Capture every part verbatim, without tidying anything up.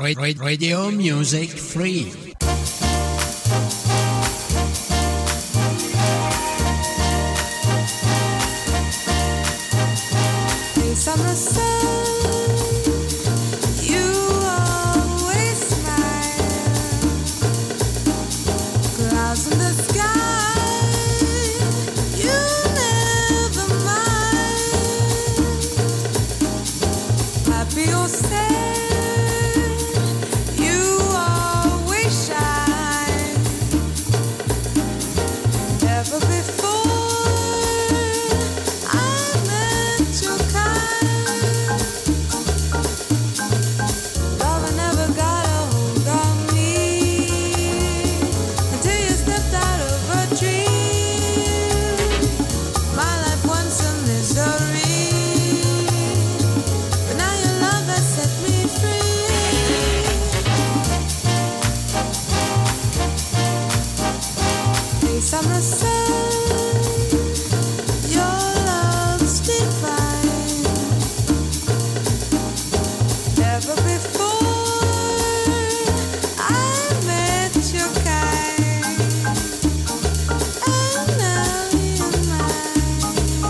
Radio Music Free. Summer sun, you always smile. Clouds in the sky, you never mind. Happy or sad, you always shine. Never before I met your kind. Summer sun, your love's divine. Never before I met your kind, and now you're mine.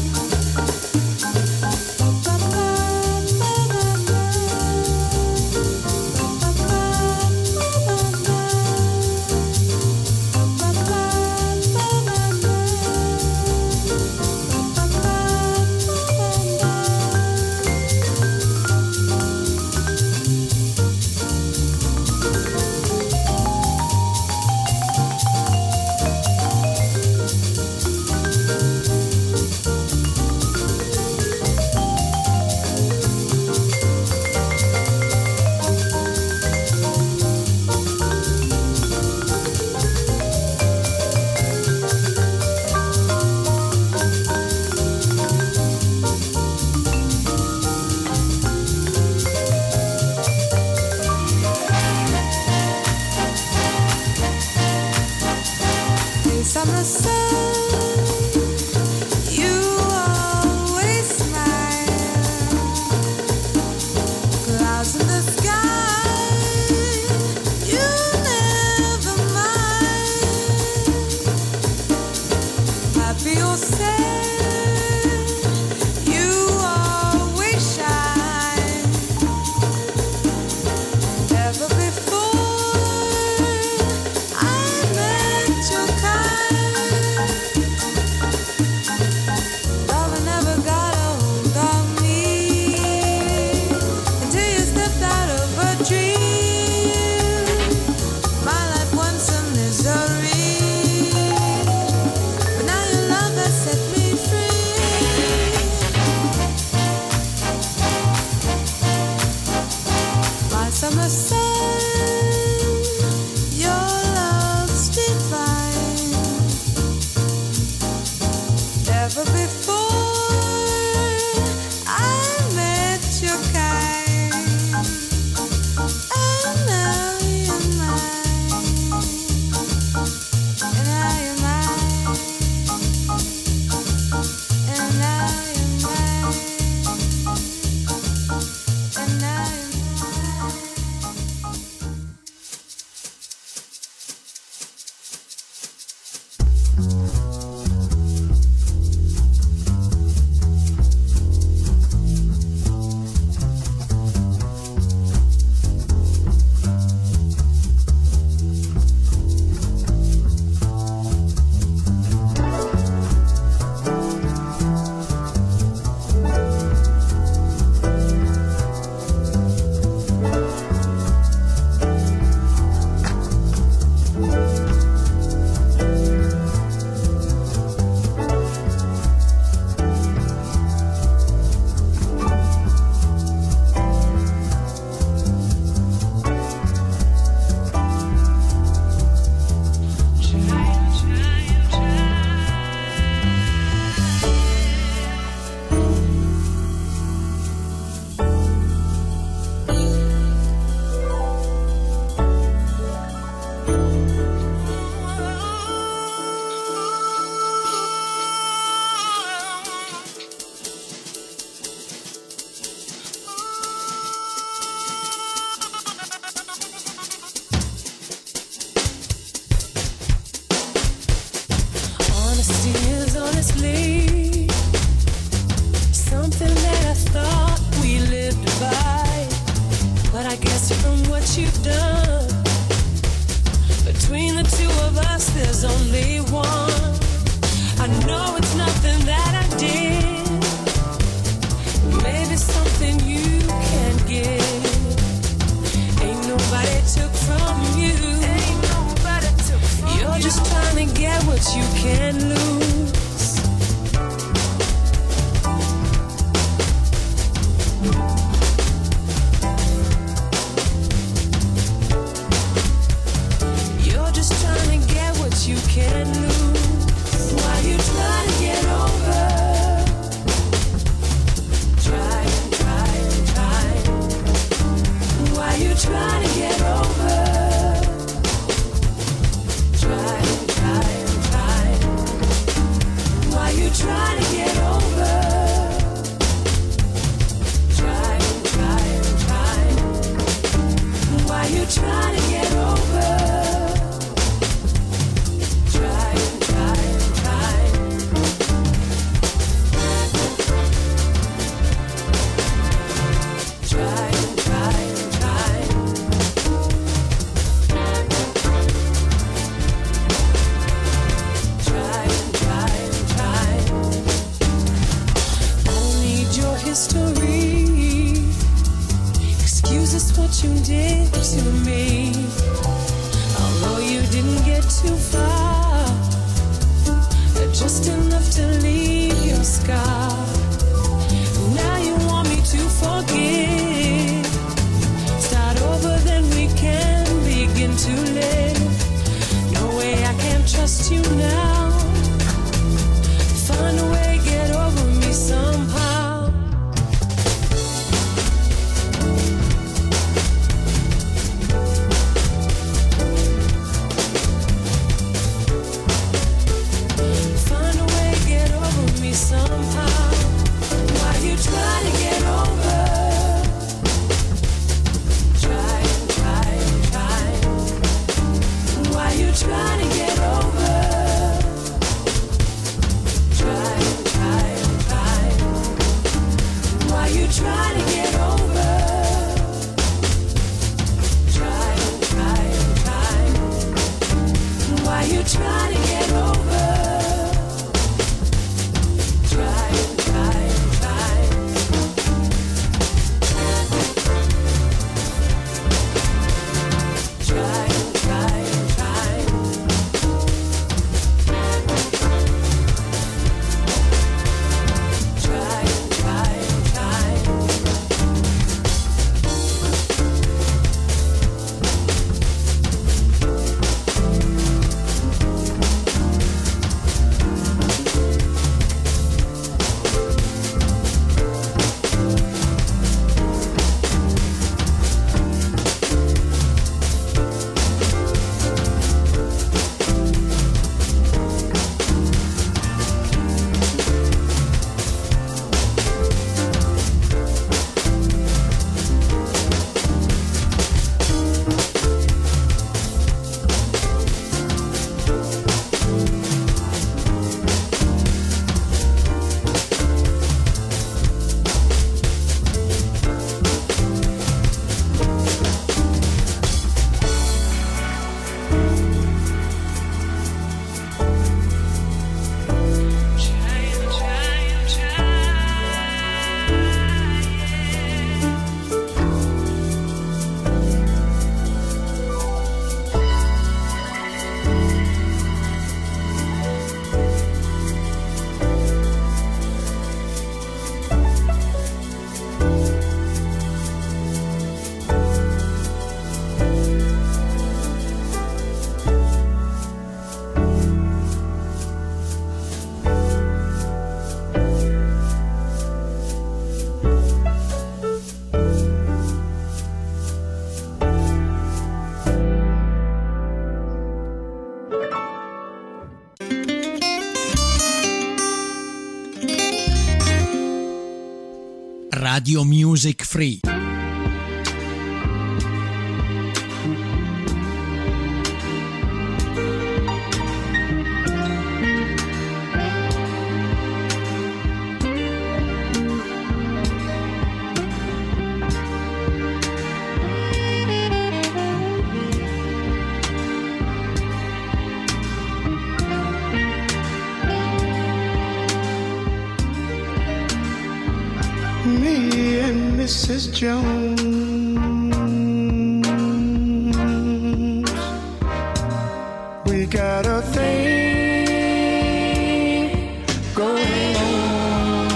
Summer sun, you always smile. Clouds in the sky, you never mind. Happy or sad, you always shine. Never before I met your kind. Summer sun, your love's divine. Never before I met your kind, and now you're mine, and now you're mine, and now you're mine, and now you're mine. Trusting is honestly something that I thought we lived by. But I guess from what you've done, between the two of us there's only one. I know it's nothing that I did, maybe something you can give. Ain't nobody took from you, ain't nobody took from you. You're just trying to get what you can lose. You're just trying to get what you can lose. Why you trying to get over? Try and try and try. Why you trying to get over? Try and try and try. Why you trying to get over? Try and try and try. Why you trying to get over? Try and try and try. Try and try and try. Try and try and try. Don't need your history. Excuse us what you did to me. Although you didn't get too far, just enough to leave your scar. Now you want me to forgive. Start over, then we can begin to live. No way I can trust you now. Find a way, get over me somehow. Find a way, get over me somehow. Why you trying to get over? Try and try and try. Why you trying to get over? Try and try and try. Why you trying to get over? Try and try and try. Why you trying to get over? Try and try and try. Try and try and try. Try and try and try. Radio Music Free. me and Missus Jones, we got a thing going on.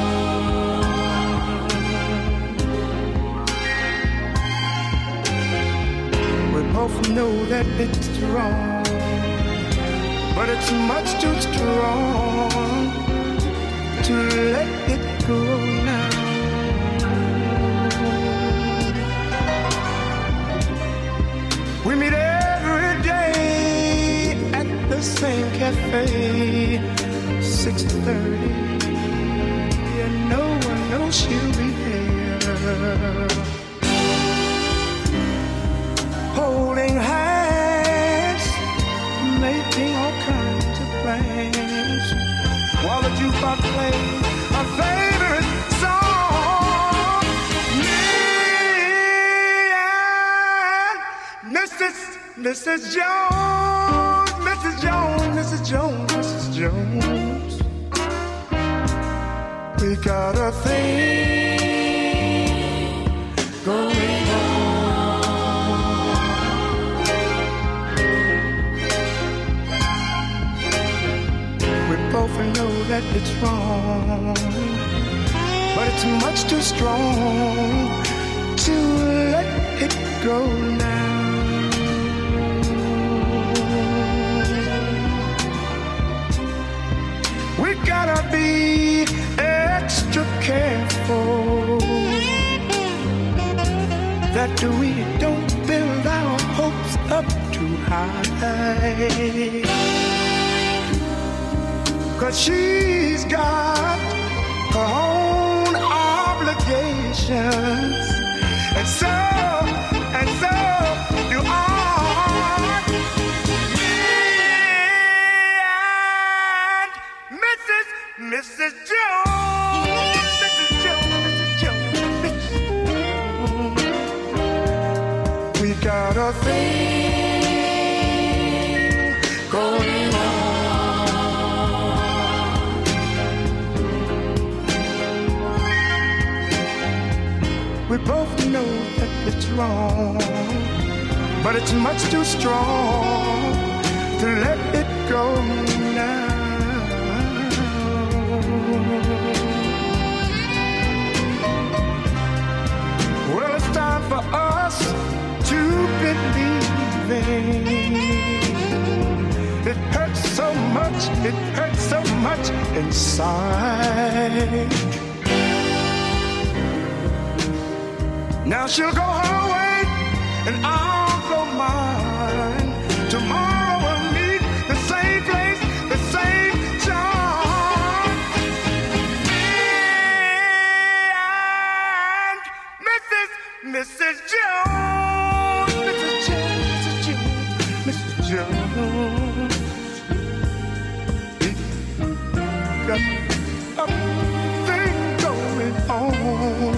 We both know that it's wrong, but it's much too strong to let it go now. We meet every day at the same cafe, six thirty, and no one knows she'll be there. Holding hands, making all kinds of plans, while the jukebox plays our favorite song. Me and Missus Missus Jones, Missus Jones, Missus Jones, Missus Jones, we got a thing going on. We both know that it's wrong, but it's much too strong to let it go now. We gotta be extra careful that we don't build our hopes up too high, 'cause she's got her own obligations, and so, and so do I. Me and Missus Missus Jones, Missus Jones, Missus Jones, Missus Jones, we got a thing going on. We both know that it's wrong, but it's much too strong to let it go now. Well, it's time for us to believe in. It hurts so much, it hurts so much inside. Now she'll go her way and I'll go mine. Tomorrow we'll meet the same place, the same time. Me and Missus Missus Jones, Missus Jones, Missus Jones, Missus Jones. We got a thing going on.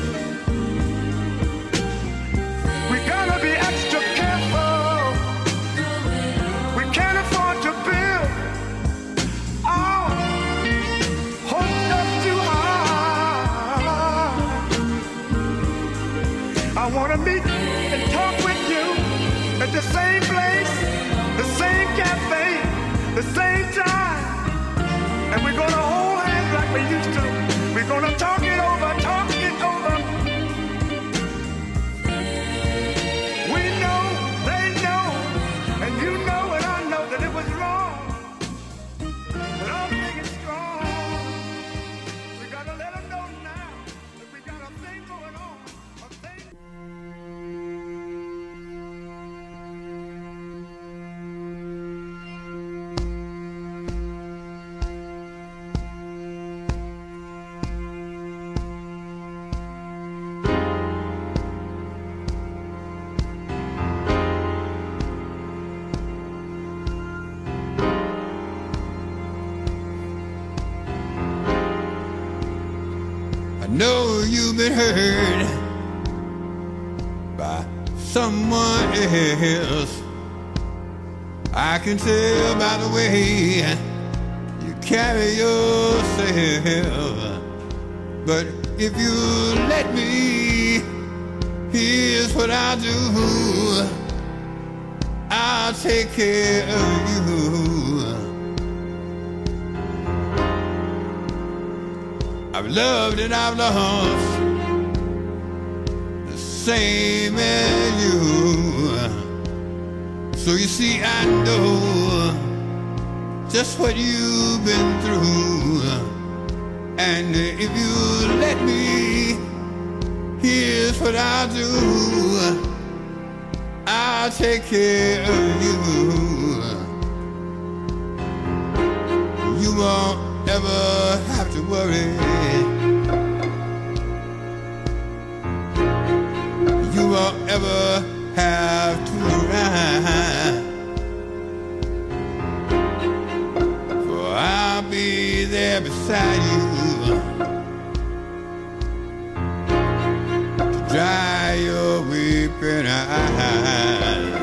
Be extra careful. We can't afford to build our hopes up too high. I wanna meet and talk with you at the same place, the same cafe, the same time, and we're gonna hold hands like we used to. We're gonna talk it over, talk it over. Know you've been hurt by someone else. I can tell by the way you carry yourself, but if you let me, here's what I'll do. I'll take care of you. I've loved and I've lost the same as you. So you see, I know just what you've been through. And if you let me, here's what I'll do. I'll take care of you. You won't ever have to worry. You won't ever have to ride. For I'll be there beside you to dry your weeping eyes.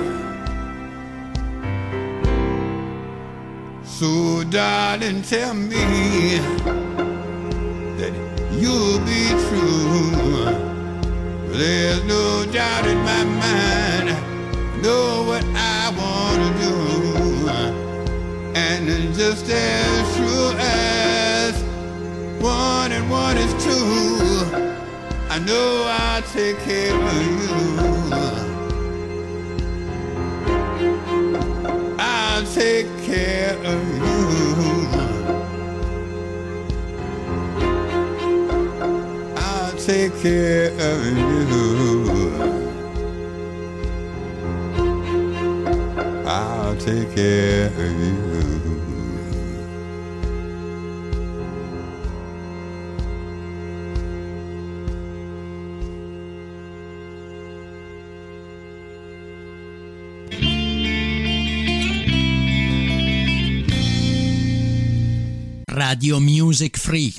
So darling, tell me that you'll be true. There's no doubt in my mind, I know what I want to do. And just as true as one and one is two, I know I'll take care of you. I'll take care of you. I'll take care of you. I'll take care of you. Radio Music Free.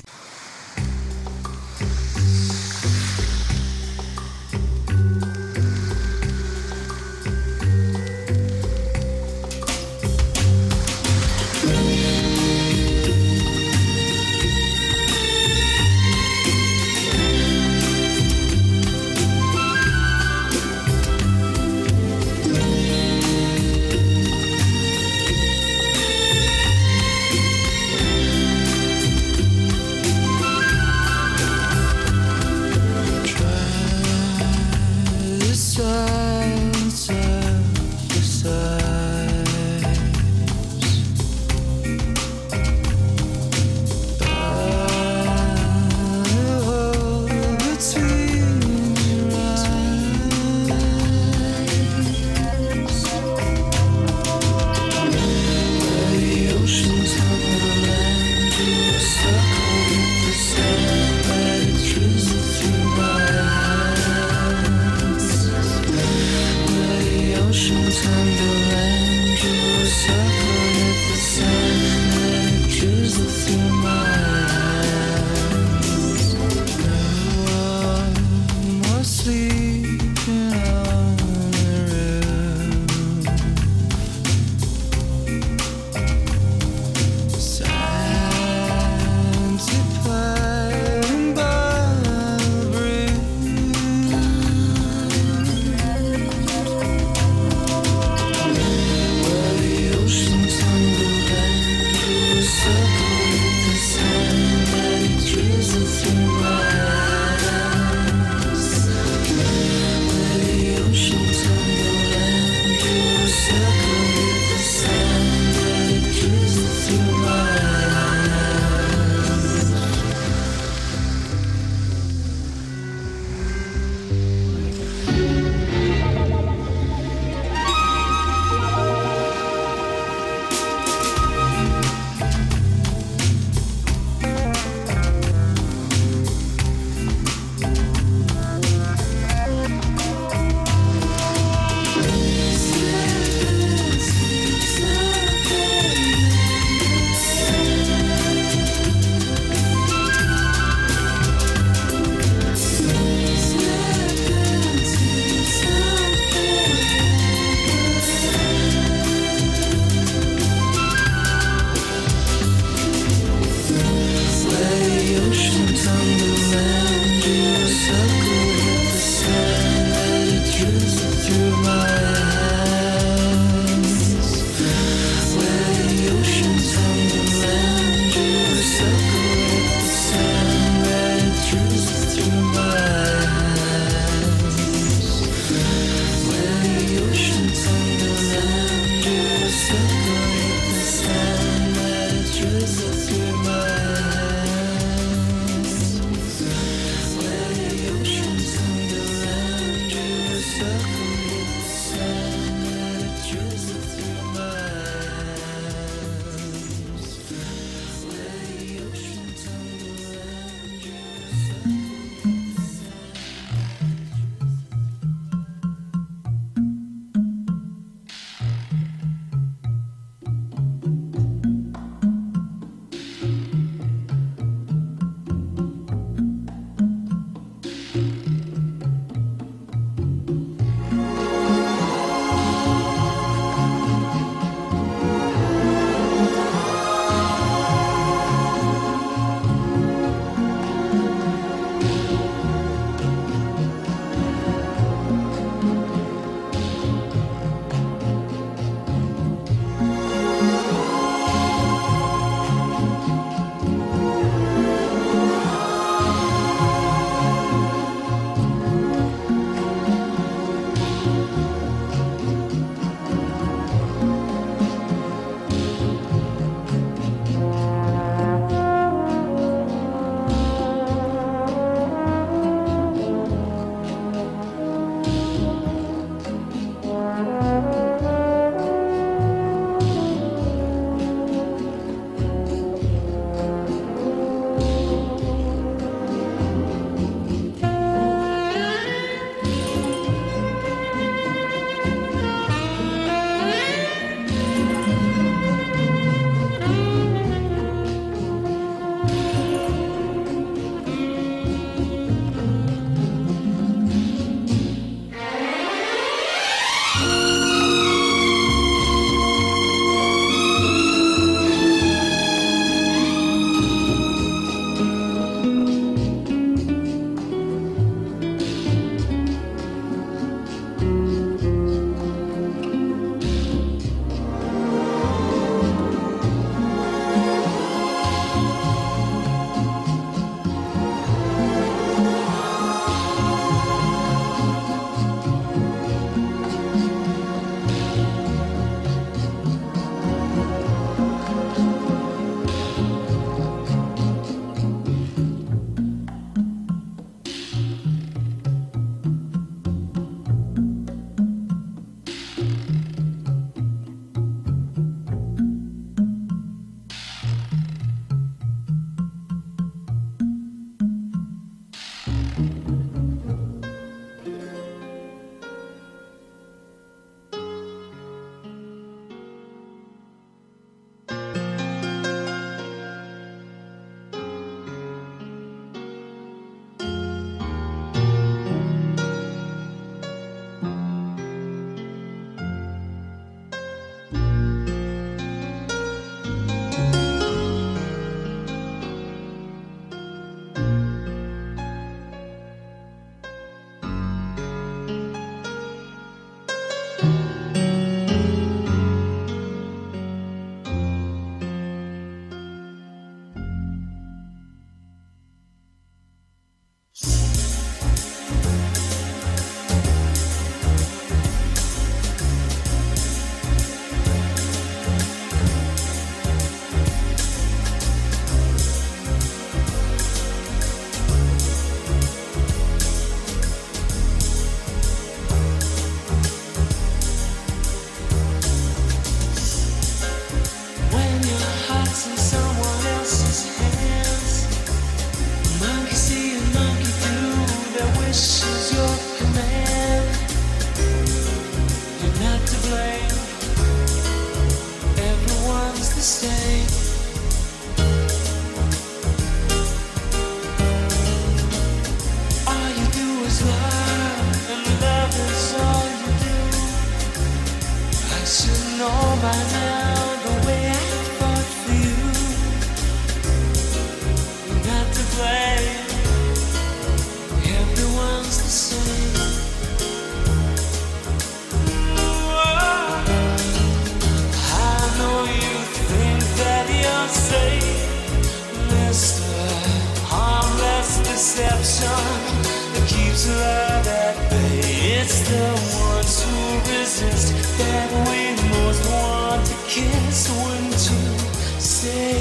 sister, harmless deception that keeps love at bay. It's the ones who resist that we most want to kiss. Wouldn't you say?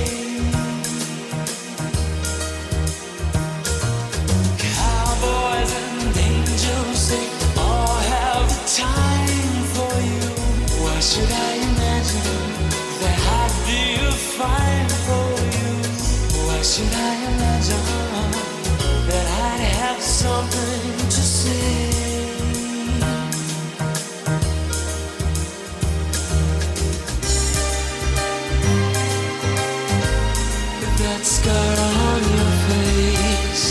Cowboys and angels, they all have the time for you. Why should I imagine that I'd be fine for you? Why should I imagine that I'd have something to say? That scar on your face,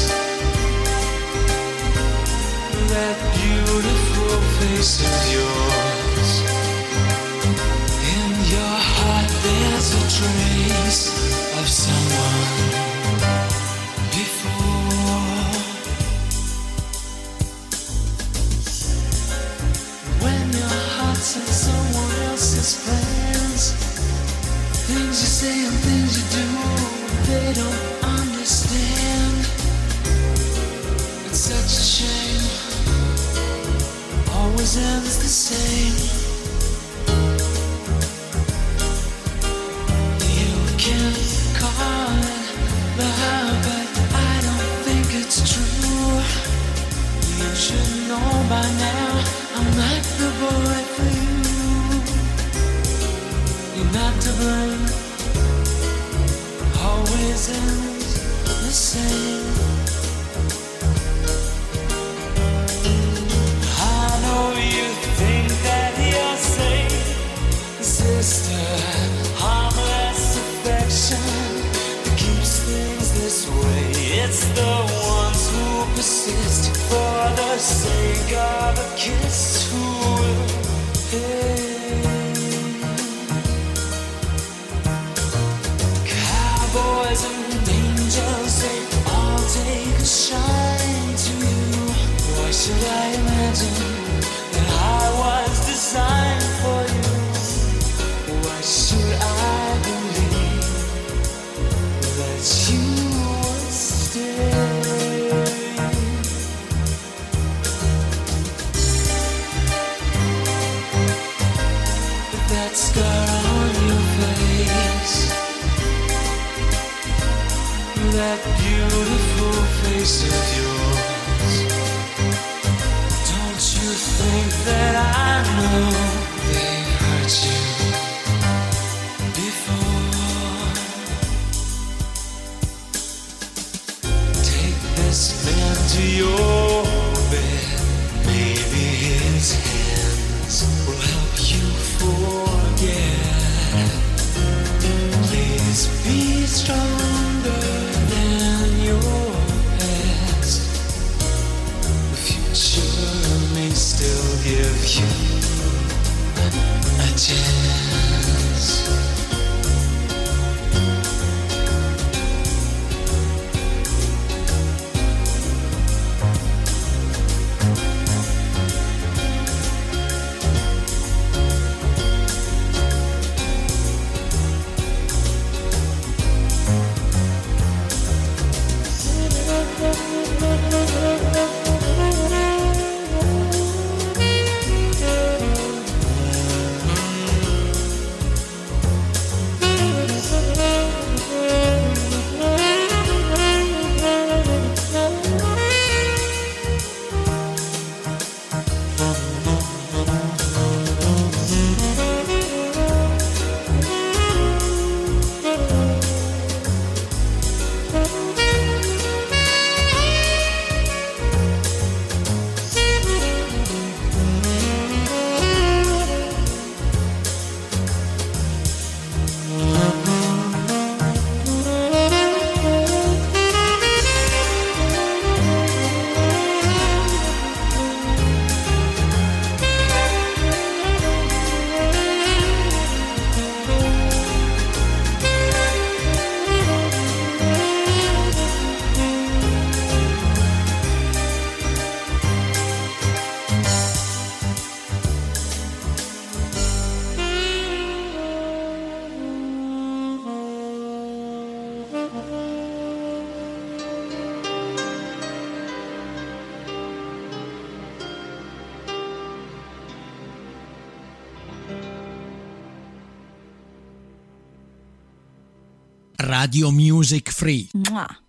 that beautiful face of yours, in your heart there's a trace of someone before. When your heart's in someone else's plans, things you say and things you do, they don't understand. It's such a shame, always ends the same. You can call it love, but I don't think it's true. You should know by now I'm not the boy for you. You're not to blame, always ends the same. I know you think that you're safe, sister, harmless affection that keeps things this way. It's the ones who persist for the sake of a kiss who will pay. Boys and angels, they all take a shine to you. Why should I imagine that I was designed for you? Why should I believe that you would stay? That scar on your face, that beautiful face of yours, don't you think that I know they've hurt you before? Take this man to your bed, maybe his hands will help you forget. Please be stronger than your past. The future may still give you a chance. Radio Music Free. Mua.